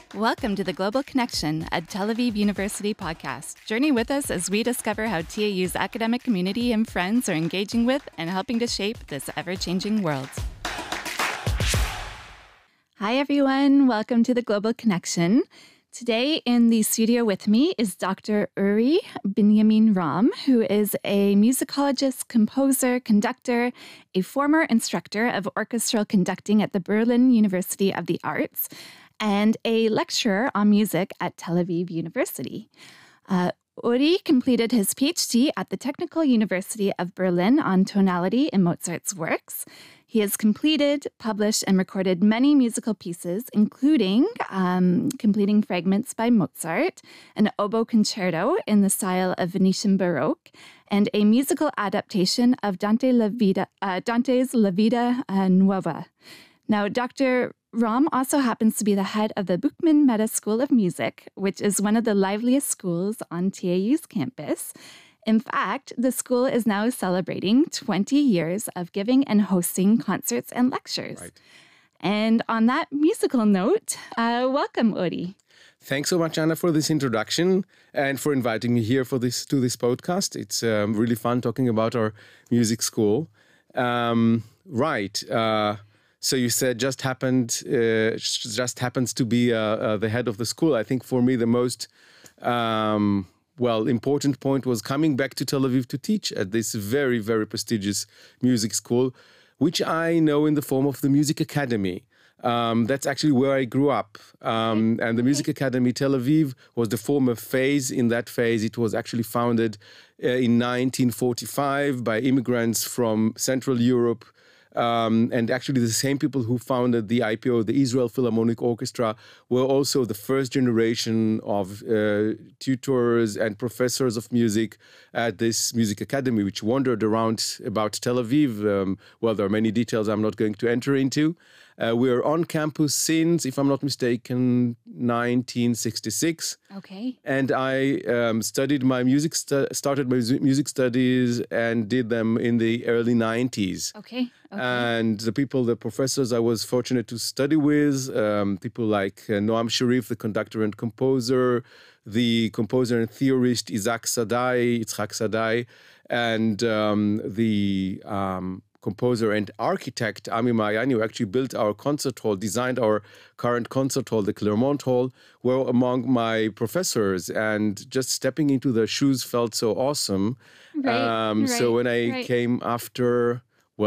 Welcome to the Global Connection, a Tel Aviv University podcast. Journey with us as we discover how TAU's academic community and friends are engaging with and helping to shape this ever-changing world. Hi, everyone. Welcome to the Global Connection. Today in the studio with me is Dr. Uri Binyamin Ram, who is a musicologist, composer, conductor, a former instructor of orchestral conducting at the Berlin University of the Arts, and a lecturer on music at Tel Aviv University. Uri completed his PhD at the Technical University of Berlin on tonality in Mozart's works. He has completed, published, and recorded many musical pieces, including completing fragments by Mozart, an oboe concerto in the style of Venetian Baroque, and a musical adaptation of Dante's La Vita Nuova. Now, Dr. Ram also happens to be the head of the Buchmann Meta School of Music, which is one of the liveliest schools on TAU's campus. In fact, the school is now celebrating 20 years of giving and hosting concerts and lectures. Right. And on that musical note, welcome, Uri. Thanks so much, Anna, for this introduction and for inviting me here to this podcast. It's really fun talking about our music school. So you said just happens to be the head of the school. I think for me the most important point was coming back to Tel Aviv to teach at this very, very prestigious music school, which I know in the form of the Music Academy. That's actually where I grew up. And the Music Academy Tel Aviv was the former phase. In that phase, it was actually founded in 1945 by immigrants from Central Europe. And actually the same people who founded the IPO, the Israel Philharmonic Orchestra, were also the first generation of tutors and professors of music at this music academy, which wandered around about Tel Aviv. There are many details I'm not going to enter into. We're on campus since, if I'm not mistaken, 1966. Okay. And I started my music studies and did them in the early 90s. Okay. And the professors I was fortunate to study with, people like Noam Sharif, the conductor and composer, the composer and theorist Yitzhak Sadai, and the composer and architect Ami Mayani, who actually built our concert hall, designed our current concert hall, the Clermont Hall, were among my professors. And just stepping into their shoes felt so awesome. So when I came after,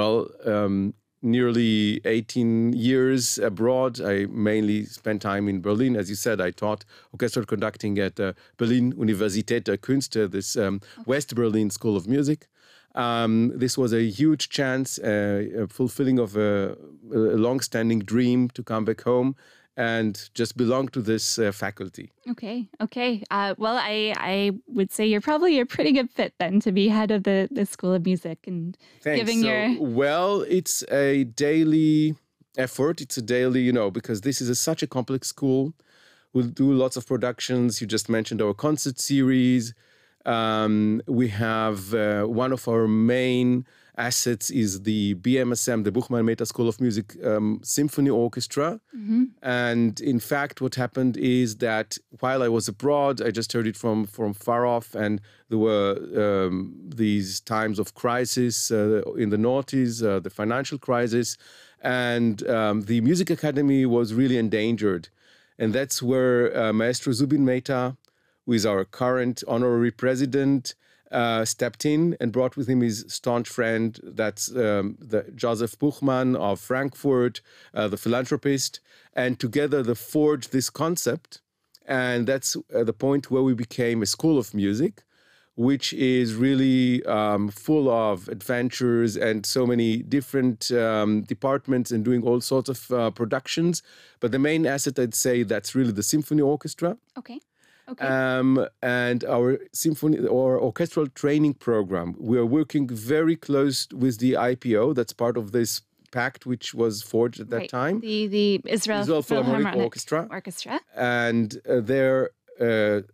nearly 18 years abroad, I mainly spent time in Berlin. As you said, I taught orchestral conducting at Berlin Universität der Künste, this West Berlin School of Music. This was a huge chance, a fulfilling of a long-standing dream to come back home and just belong to this faculty. Okay. I would say you're probably a pretty good fit then to be head of the School of Music and Thanks. It's a daily effort. It's a daily, because this is such a complex school. We'll do lots of productions. You just mentioned our concert series. We have one of our main assets is the BMSM, the Buchmann Meta School of Music Symphony Orchestra. Mm-hmm. And in fact, what happened is that while I was abroad, I just heard it from far off, and there were these times of crisis in the noughties, the financial crisis, and the Music Academy was really endangered. And that's where Maestro Zubin Mehta, who is our current honorary president, stepped in and brought with him his staunch friend, that's the Joseph Buchmann of Frankfurt, the philanthropist, and together they forged this concept. And that's the point where we became a school of music, which is really full of adventures and so many different departments and doing all sorts of productions. But the main asset, I'd say, that's really the symphony orchestra. Okay. And our symphony or orchestral training program. We are working very close with the IPO. That's part of this pact which was forged at that time. The Israel Philharmonic Orchestra. Orchestra. And their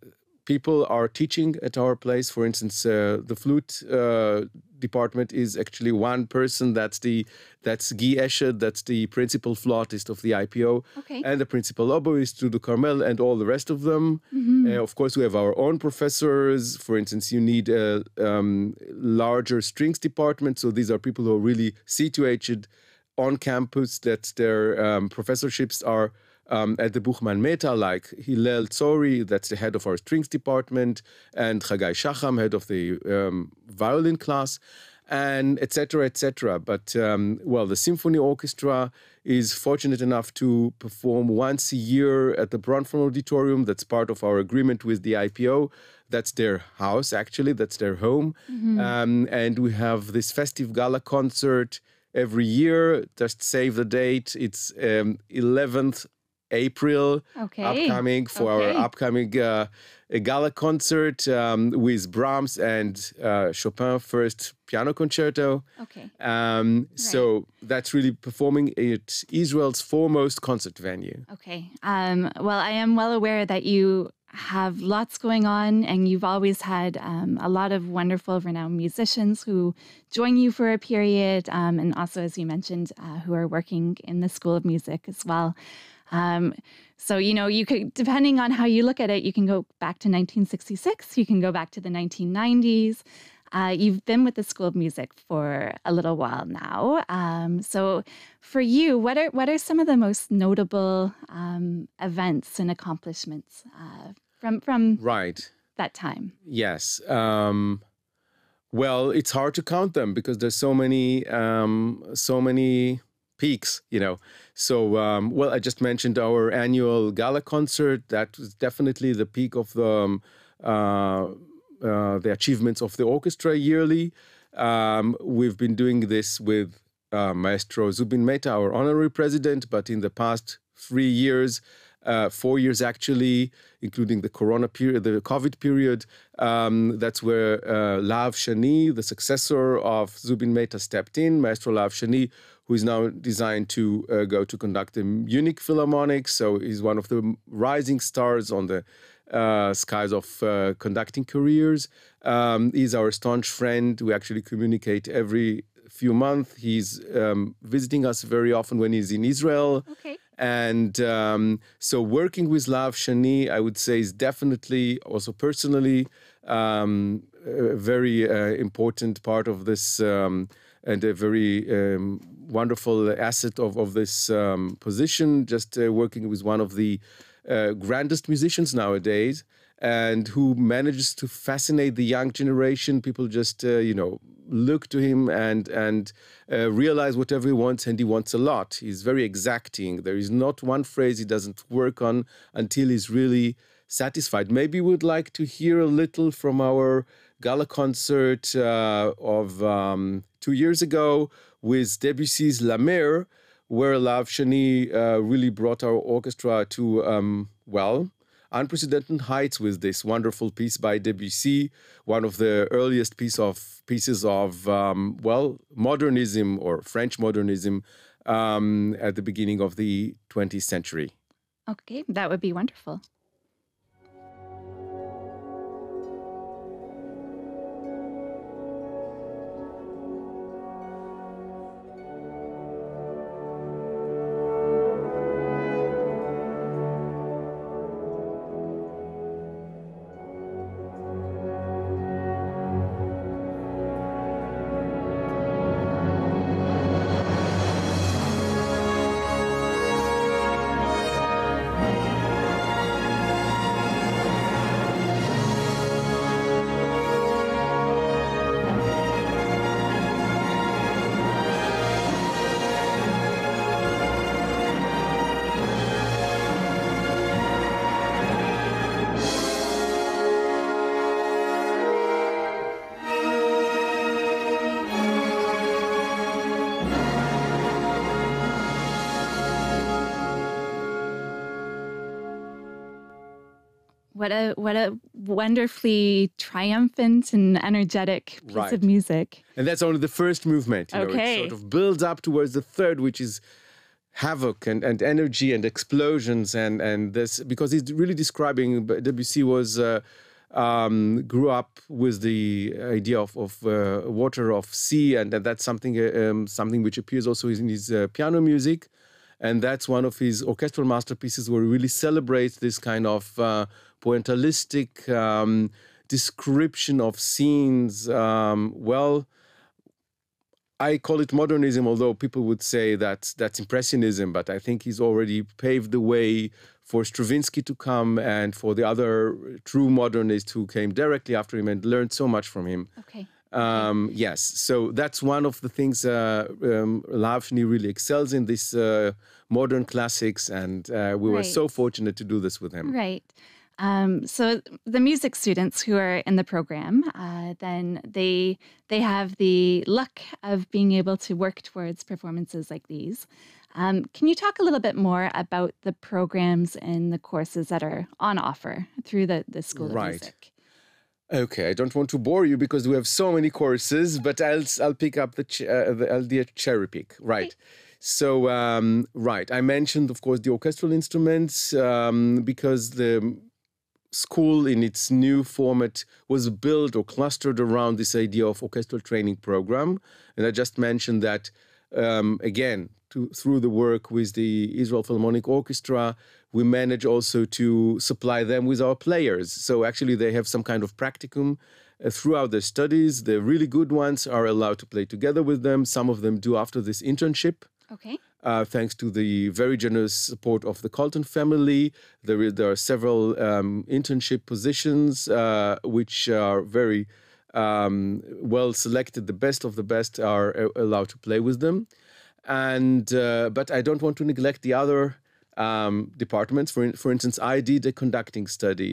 people are teaching at our place. For instance, the flute department is actually one person. That's Guy Escher. That's the principal flautist of the IPO. Okay. And the principal oboist, Dudu Carmel, and all the rest of them. Of course, we have our own professors. For instance, you need a larger strings department. So these are people who are really situated on campus, that their professorships are at the Buchmann Meta, like Hillel Tzori, that's the head of our strings department, and Chagai Shacham, head of the violin class, and etc., etc. But, the symphony orchestra is fortunate enough to perform once a year at the Bronfman Auditorium. That's part of our agreement with the IPO. That's their house, actually. That's their home. And we have this festive gala concert every year. Just save the date. It's 11th April upcoming for our upcoming gala concert with Brahms and Chopin First Piano Concerto. Okay. So that's really performing at Israel's foremost concert venue. Okay. Well, I am well aware that you have lots going on, and you've always had a lot of wonderful, renowned musicians who join you for a period, and also, as you mentioned, who are working in the School of Music as well. So, you could, depending on how you look at it, you can go back to 1966, you can go back to the 1990s. You've been with the School of Music for a little while now. So for you, what are some of the most notable events and accomplishments from that time? Yes. Well, it's hard to count them because there's so many peaks, So, I just mentioned our annual gala concert. That was definitely the peak of the achievements of the orchestra yearly. We've been doing this with Maestro Zubin Mehta, our honorary president, but in the past 3 years, 4 years actually, including the Corona period, the COVID period, that's where Lav Shani, the successor of Zubin Mehta, stepped in. Maestro Lav Shani, who is now designed to go to conduct the Munich Philharmonic. So he's one of the rising stars on the skies of conducting careers. He's our staunch friend. We actually communicate every few months. He's visiting us very often when he's in Israel. Okay. And so working with Lav Shani, I would say, is definitely also personally a very important part of this and a very wonderful asset of this position, just working with one of the grandest musicians nowadays, and who manages to fascinate the young generation. People just, look to him and realize whatever he wants, and he wants a lot. He's very exacting. There is not one phrase he doesn't work on until he's really satisfied. Maybe we'd like to hear a little from our gala concert of 2 years ago with Debussy's La Mer, where Lav Shani really brought our orchestra to, unprecedented heights with this wonderful piece by Debussy, one of the earliest pieces of modernism or French modernism at the beginning of the 20th century. Okay, that would be wonderful. What a wonderfully triumphant and energetic piece of music. And that's only the first movement. Okay. It sort of builds up towards the third, which is havoc and energy and explosions and this, because he's really describing, Debussy was grew up with the idea of water, of sea, and that's something which appears also in his piano music. And that's one of his orchestral masterpieces where he really celebrates this kind of pointillistic description of scenes. I call it modernism, although people would say that's impressionism, but I think he's already paved the way for Stravinsky to come and for the other true modernists who came directly after him and learned so much from him. Okay. Yes, so that's one of the things Lahavni really excels in, this modern classics, and we were so fortunate to do this with him. Right. So the music students who are in the program, then they have the luck of being able to work towards performances like these. Can you talk a little bit more about the programs and the courses that are on offer through the School of Music? Okay, I don't want to bore you because we have so many courses, but I'll pick up I'll do a cherry pick. Right. Okay. So, I mentioned, of course, the orchestral instruments because the school in its new format was built or clustered around this idea of orchestral training program. And I just mentioned that, again, through the work with the Israel Philharmonic Orchestra, we manage also to supply them with our players. So actually they have some kind of practicum throughout their studies. The really good ones are allowed to play together with them. Some of them do after this internship. Okay. Thanks to the very generous support of the Colton family. There are several internship positions which are very well selected. The best of the best are allowed to play with them. And but I don't want to neglect the other departments. For instance, I did a conducting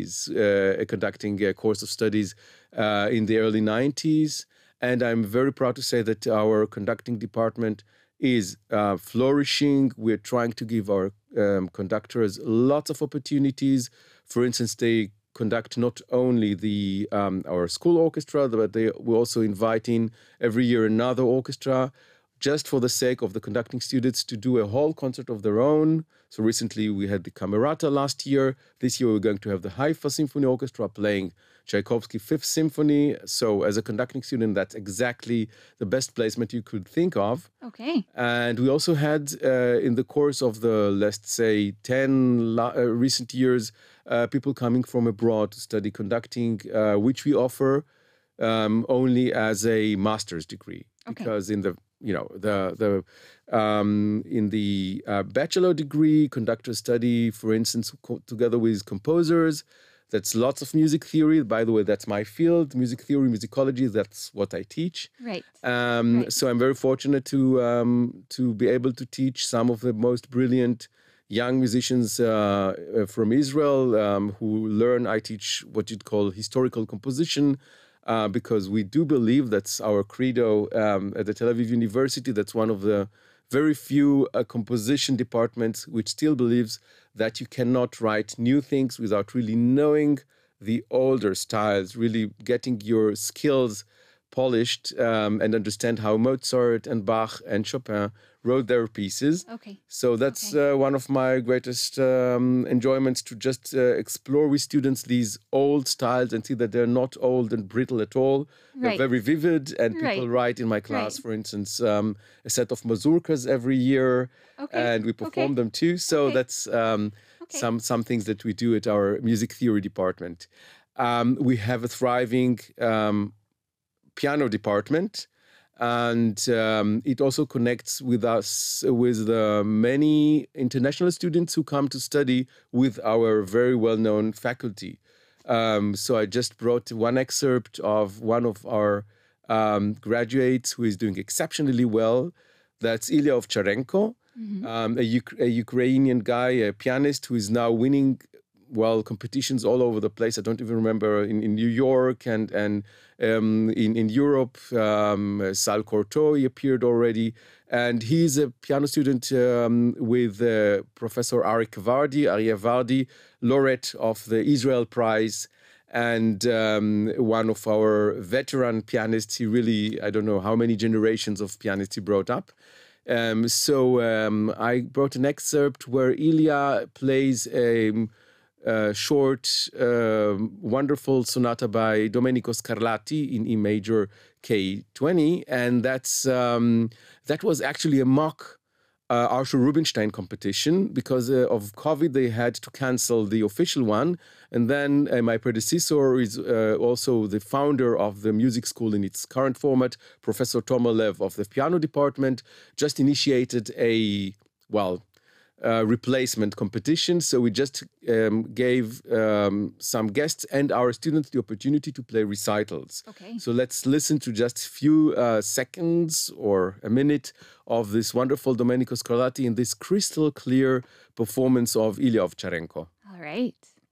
course of studies in the early 90s. And I'm very proud to say that our conducting department is flourishing. We're trying to give our conductors lots of opportunities. For instance, they conduct not only our school orchestra, but we also invite in every year another orchestra, just for the sake of the conducting students to do a whole concert of their own. So recently we had the Camerata last year. This year we're going to have the Haifa Symphony Orchestra playing Tchaikovsky Fifth Symphony. So as a conducting student, that's exactly the best placement you could think of. Okay. And we also had, in the course of the, let's say, 10 recent years, people coming from abroad to study conducting, which we offer only as a master's degree. Okay. Because in the bachelor degree, conductors study, for instance, together with composers. That's lots of music theory. By the way, that's my field, music theory, musicology. That's what I teach. Right. So I'm very fortunate to be able to teach some of the most brilliant young musicians from Israel who learn. I teach what you'd call historical composition. Because we do believe that's our credo at the Tel Aviv University. That's one of the very few composition departments which still believes that you cannot write new things without really knowing the older styles, really getting your skills polished and understand how Mozart and Bach and Chopin wrote their pieces. Okay. So that's one of my greatest enjoyments, to just explore with students these old styles and see that they're not old and brittle at all. Right. They're very vivid, and people write in my class, for instance, a set of mazurkas every year, and we perform them too. So that's some things that we do at our music theory department. We have a thriving piano department. And it also connects with us, with the many international students who come to study with our very well-known faculty. So I just brought one excerpt of one of our graduates who is doing exceptionally well. That's Ilya Ovcharenko, a Ukrainian guy, a pianist who is now winning competitions all over the place. I don't even remember, in New York and in Europe. Sal Cortot appeared already. And he's a piano student with Professor Aryeh Vardi, laureate of the Israel Prize, and one of our veteran pianists. He really, I don't know how many generations of pianists he brought up. So I brought an excerpt where Ilya plays short, wonderful sonata by Domenico Scarlatti in E major K20, and that was actually a mock Arthur Rubinstein competition. Because of COVID, they had to cancel the official one. And then my predecessor is also the founder of the music school in its current format, Professor Tomolev of the piano department, just initiated a replacement competition. So we just gave some guests and our students the opportunity to play recitals. Okay. So let's listen to just a few seconds or a minute of this wonderful Domenico Scarlatti in this crystal clear performance of Ilya Ovcharenko. All right.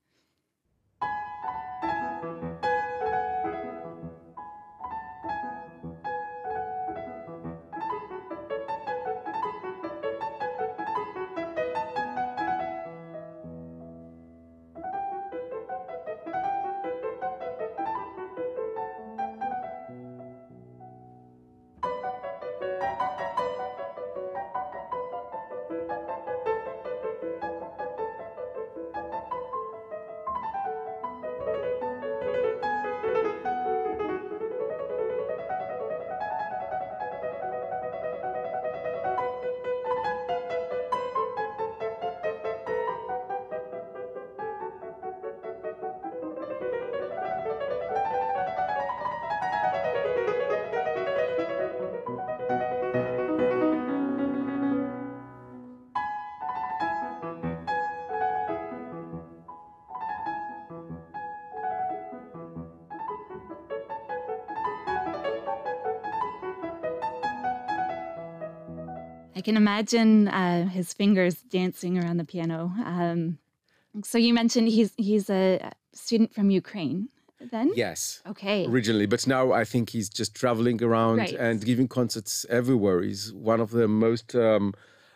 I can imagine his fingers dancing around the piano. So you mentioned he's a student from Ukraine then? Yes. Okay. Originally, but now I think he's just traveling around and giving concerts everywhere. He's one of the most, of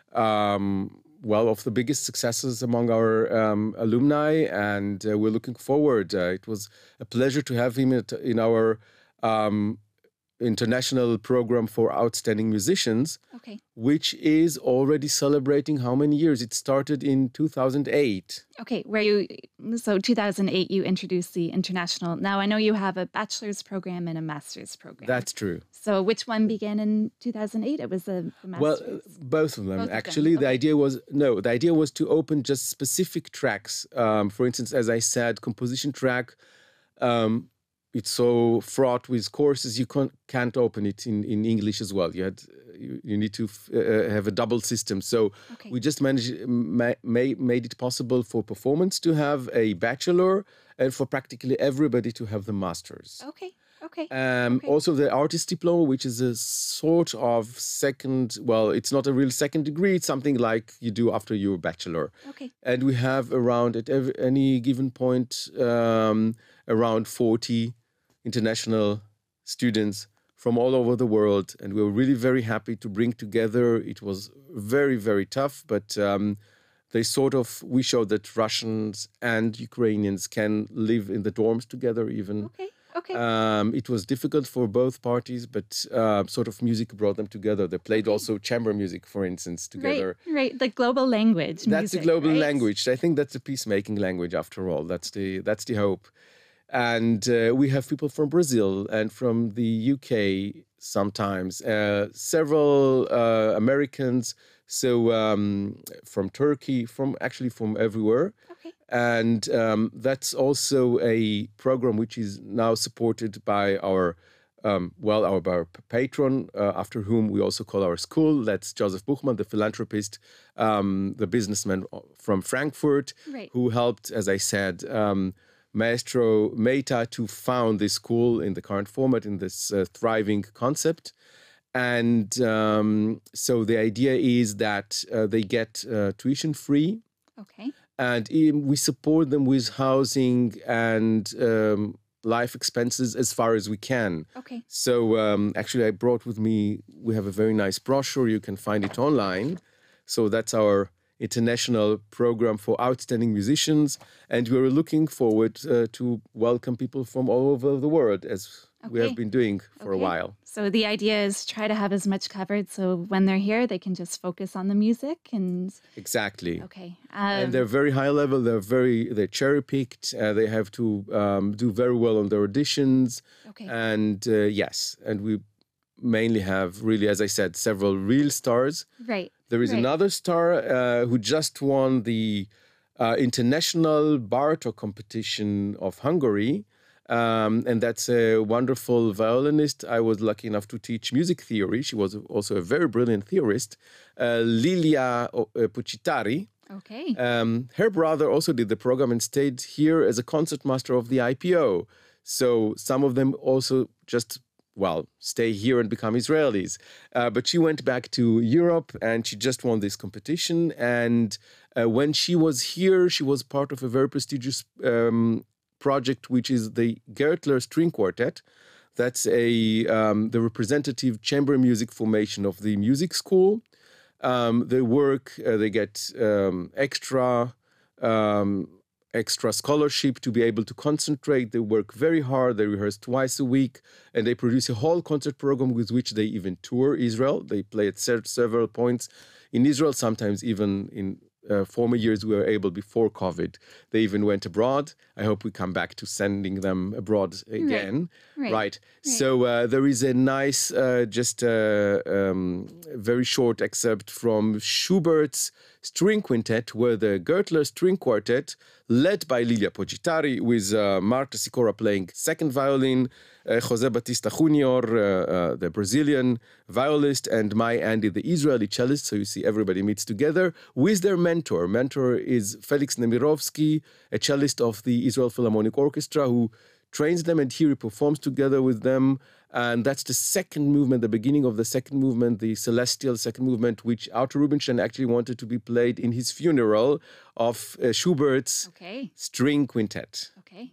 the biggest successes among our alumni, and we're looking forward. It was a pleasure to have him in our international program for outstanding musicians, which is already celebrating how many years? It started in 2008. Okay, so 2008 you introduced the international. Now I know you have a bachelor's program and a master's program. That's true. So which one began in 2008? It was the master's? Well, both of them actually. The idea was to open just specific tracks. For instance, as I said, composition track. It's so fraught with courses, you can't open it in English as well. You need to have a double system. So we just made it possible for performance to have a bachelor and for practically everybody to have the master's. Okay. Also the artist diploma, which is a sort of second, it's not a real second degree. It's something like you do after your bachelor. Okay. And we have around, at any given point, around 40 international students from all over the world, and we were really very happy to bring together. It was very, very tough, but we showed that Russians and Ukrainians can live in the dorms together even. Okay. It was difficult for both parties, but sort of music brought them together. They played also chamber music, for instance, together. Right. The global language. That's the global language. I think that's a peacemaking language after all. That's the hope. And we have people from Brazil and from the UK sometimes, several Americans, so from Turkey, from everywhere. Okay. And that's also a program which is now supported by our patron, after whom we also call our school. That's Joseph Buchmann, the philanthropist, the businessman from Frankfurt, who helped, as I said, Maestro Mehta to found this school in the current format, in this thriving concept. And so the idea is that they get tuition free. Okay. And we support them with housing and life expenses as far as we can. Okay. So actually I brought with me, we have a very nice brochure. You can find it online. So that's our international program for outstanding musicians, and we're looking forward to welcome people from all over the world, as we have been doing for a while. So the idea is try to have as much covered so when they're here, they can just focus on the music and... Exactly. Okay. And they're very high level. They're cherry picked. They have to do very well on their auditions. Okay. And yes, and we mainly have really, as I said, several real stars. Right. There is another star who just won the International Bartók competition of Hungary. And that's a wonderful violinist. I was lucky enough to teach music theory. She was also a very brilliant theorist, Lilia Pucitari. Okay. Her brother also did the program and stayed here as a concertmaster of the IPO. So some of them also just, stay here and become Israelis. But she went back to Europe and she just won this competition. And when she was here, she was part of a very prestigious project, which is the Gertler String Quartet. That's the representative chamber music formation of the music school. They work, they get extra scholarship to be able to concentrate. They work very hard. They rehearse twice a week, and they produce a whole concert program with which they even tour Israel. They play at several points in Israel, sometimes even in former years we were able before COVID. They even went abroad. I hope we come back to sending them abroad again. Right. So there is a nice, very short excerpt from Schubert's String Quintet, where the Gertler String Quartet, led by Lilia Pucitari, with Marta Sikora playing second violin, José Batista Junior, the Brazilian violist, and my Andy, the Israeli cellist. So you see everybody meets together with their mentor. Mentor is Felix Nemirovsky, a cellist of the Israel Philharmonic Orchestra, who trains them, and here he performs together with them. And that's the second movement, the beginning of the second movement, the celestial second movement, which Arthur Rubinstein actually wanted to be played in his funeral of Schubert's String Quintet. Okay.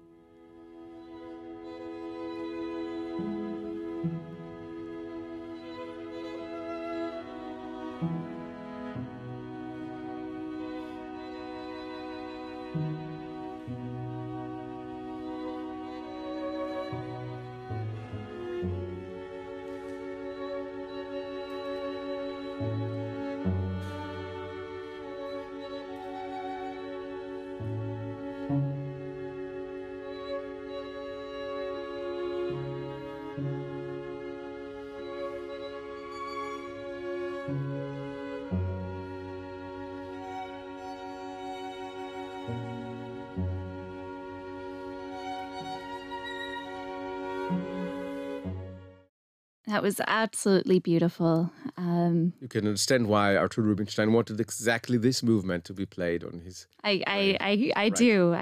That was absolutely beautiful. You can understand why Arthur Rubinstein wanted exactly this movement to be played on his... I do.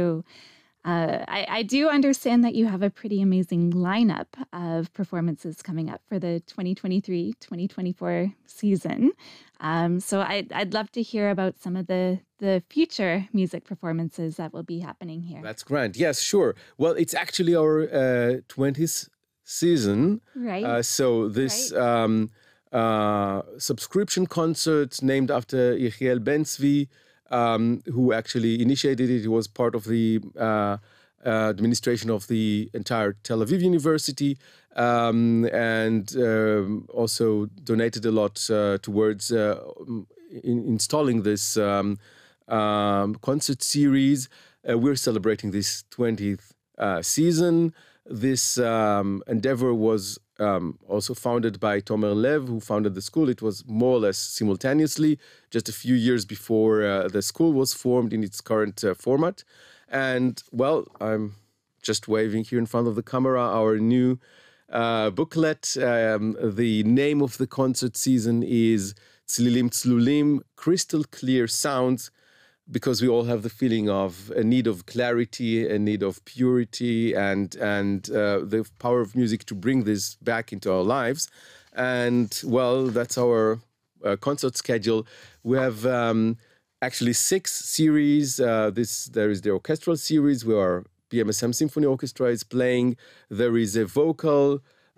I do understand that you have a pretty amazing lineup of performances coming up for the 2023-2024 season. So I'd love to hear about some of the future music performances that will be happening here. That's grand. Yes, sure. Well, it's actually our 20th season. Right. So this subscription concert named after Yechiel Ben-Zvi, who actually initiated it. He was part of the administration of the entire Tel Aviv University, and also donated a lot towards installing this concert series. We're celebrating this 20th season. This endeavor was also founded by Tomer Lev, who founded the school. It was more or less simultaneously, just a few years before the school was formed in its current format. And, well, I'm just waving here in front of the camera our new booklet. The name of the concert season is Tzlilim Tzlulim, Crystal Clear Sounds, because we all have the feeling of a need of clarity, a need of purity, and the power of music to bring this back into our lives. And, well, that's our concert schedule. We have actually 6 series. There is the orchestral series where our BMSM Symphony Orchestra is playing. There is a vocal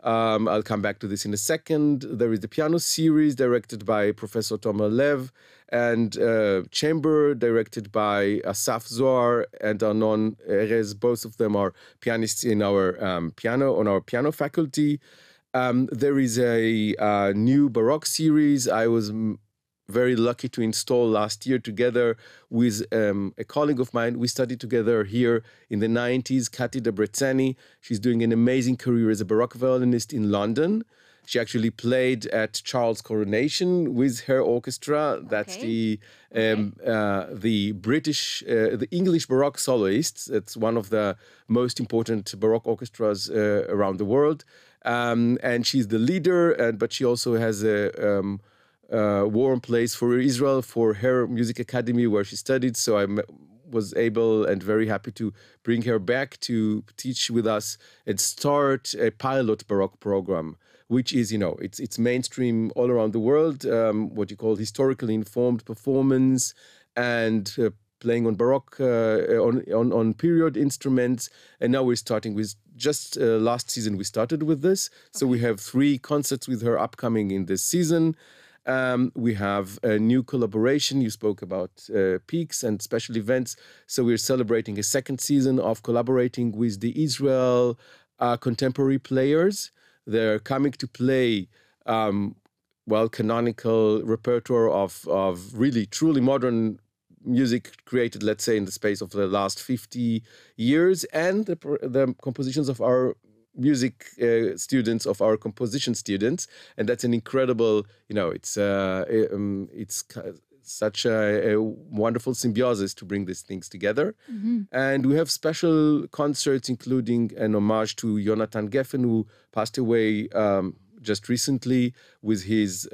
I'll come back to this in a second. There is the piano series directed by Professor Tomer Lev, and chamber directed by Asaf Zohar and Arnon Erez. Both of them are pianists in our piano faculty. There is a new Baroque series I was very lucky to install last year together with a colleague of mine. We studied together here in the 90s, Kati Debreceni. She's doing an amazing career as a Baroque violinist in London. She actually played at Charles' coronation with her orchestra. That's the British, the English Baroque soloists. It's one of the most important Baroque orchestras around the world. And she's the leader, but she also has a warm place for Israel, for her music academy where she studied. So I was able and very happy to bring her back to teach with us and start a pilot Baroque program, which is, it's mainstream all around the world, what you call historically informed performance and playing on Baroque, on period instruments. And now we're starting with, just last season we started with this. So we have 3 concerts with her upcoming in this season. We have a new collaboration. You spoke about peaks and special events. So we're celebrating a 2nd season of collaborating with the Israel contemporary players. They're coming to play, canonical repertoire of really, truly modern music created, let's say, in the space of the last 50 years, and the compositions of our music students, of our composition students. And that's an incredible, it's such a wonderful symbiosis to bring these things together. Mm-hmm. And we have special concerts, including an homage to Jonathan Geffen, who passed away just recently, with his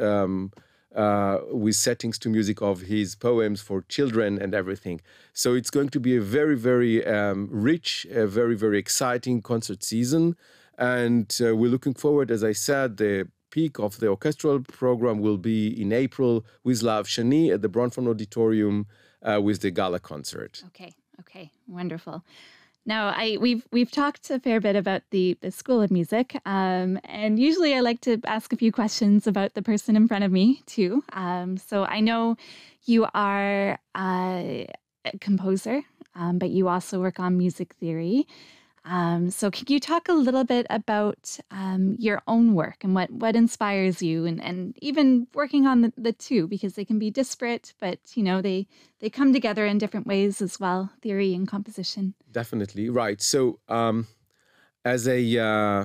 with settings to music of his poems for children and everything. So it's going to be a very, very rich, very, very exciting concert season. And we're looking forward, as I said, the peak of the orchestral program will be in April with Lav Shani at the Bronfman Auditorium with the gala concert. Okay, wonderful. Now, we've talked a fair bit about the School of Music, and usually I like to ask a few questions about the person in front of me too. So I know you are a composer, but you also work on music theory. So can you talk a little bit about your own work and what inspires you, and even working on the two, because they can be disparate, but they come together in different ways as well, theory and composition. Definitely, right. So as a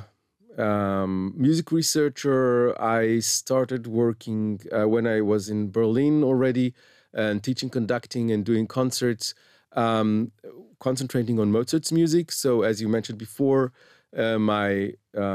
music researcher, I started working when I was in Berlin already, and teaching, conducting, and doing concerts. Concentrating on Mozart's music. So as you mentioned before, my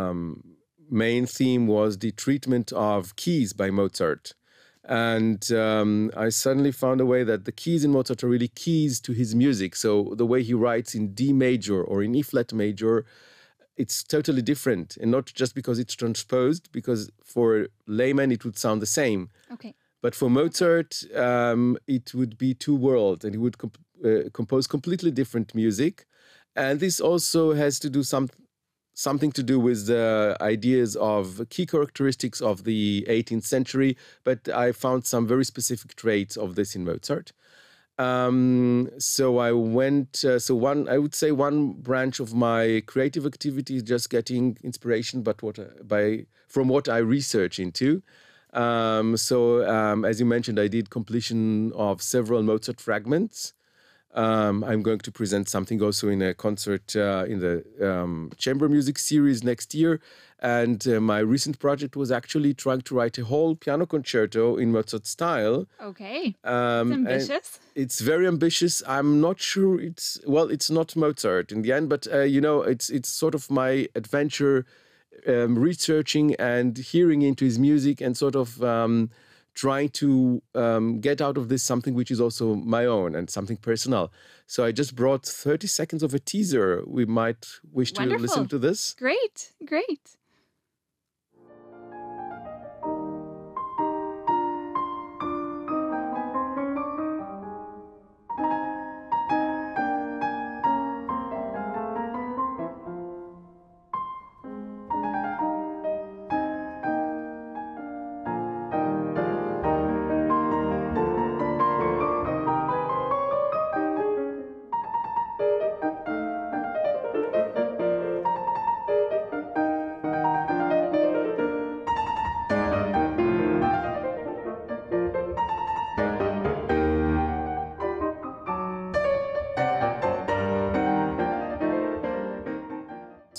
main theme was the treatment of keys by Mozart. And I suddenly found a way that the keys in Mozart are really keys to his music. So the way he writes in D major or in E flat major, it's totally different. And not just because it's transposed, because for a layman it would sound the same. Okay. But for Mozart, it would be 2 worlds, and he would compose completely different music. And this also has to do something to do with the ideas of key characteristics of the 18th century. But I found some very specific traits of this in Mozart. So I went. I would say one branch of my creative activity is just getting inspiration, from what I research into. As you mentioned, I did completion of several Mozart fragments. I'm going to present something also in a concert in the chamber music series next year. And my recent project was actually trying to write a whole piano concerto in Mozart style. Okay, it's ambitious. It's very ambitious. I'm not sure it's not Mozart in the end, but it's sort of my adventure. Researching and hearing into his music and sort of trying to get out of this something which is also my own and something personal. So I just brought 30 seconds of a teaser. We might wish to listen to this. Great.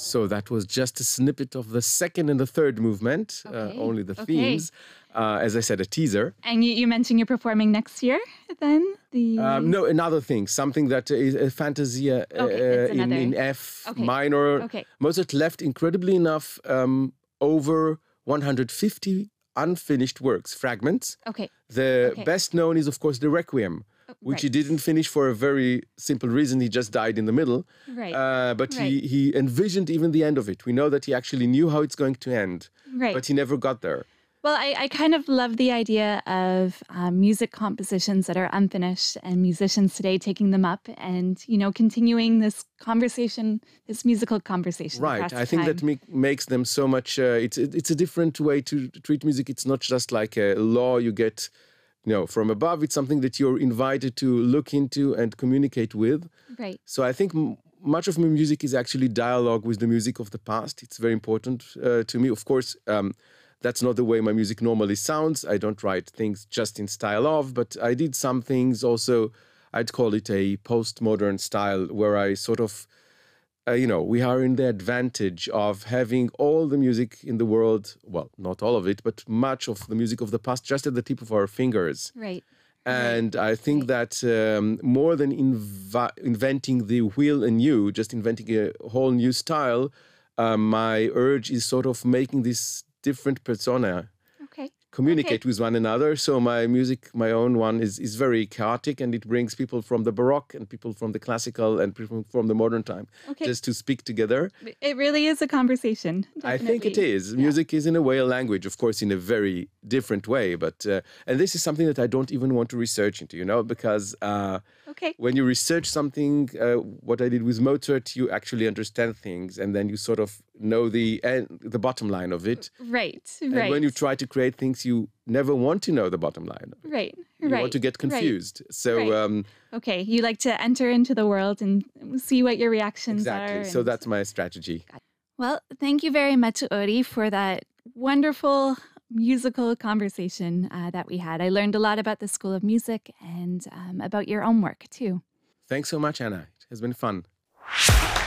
So that was just a snippet of the second and the third movement, only the themes. As I said, a teaser. And you mentioned you're performing next year then? No, another thing, something that is a Fantasia in F minor. Mozart left, incredibly enough, over 150 unfinished works, fragments. The best known is, of course, the Requiem, which he didn't finish for a very simple reason. He just died in the middle. But he envisioned even the end of it. We know that he actually knew how it's going to end, but he never got there. Well, I kind of love the idea of music compositions that are unfinished and musicians today taking them up and, you know, continuing this conversation, this musical conversation. Right. I think that makes them so much, it's a different way to treat music. It's not just like a law you get, you know, from above. It's something that you're invited to look into and communicate with. So I think much of my music is actually dialogue with the music of the past. It's very important to me. Of course, that's not the way my music normally sounds. I don't write things just in style of, but I did some things also, I'd call it a postmodern style, where I sort of, you know, we are in the advantage of having all the music in the world, well, not all of it, but much of the music of the past just at the tip of our fingers. And I think that more than inventing the wheel anew, just inventing a whole new style, my urge is sort of making this different persona communicate with one another. So my music, my own one, is very chaotic, and it brings people from the Baroque and people from the classical and people from the modern time just to speak together. It really is a conversation. I think it is. Music is in a way a language, of course, in a very different way. But and this is something that I don't even want to research into, you know, because when you research something, what I did with Mozart, you actually understand things, and then you sort of know the bottom line of it. And when you try to create things, you never want to know the bottom line of it. You want to get confused. So you like to enter into the world and see what your reactions are. Exactly. So that's my strategy. Well, thank you very much, Uri, for that wonderful musical conversation that we had. I learned a lot about the School of Music and about your own work too. Thanks so much, Anna. It has been fun.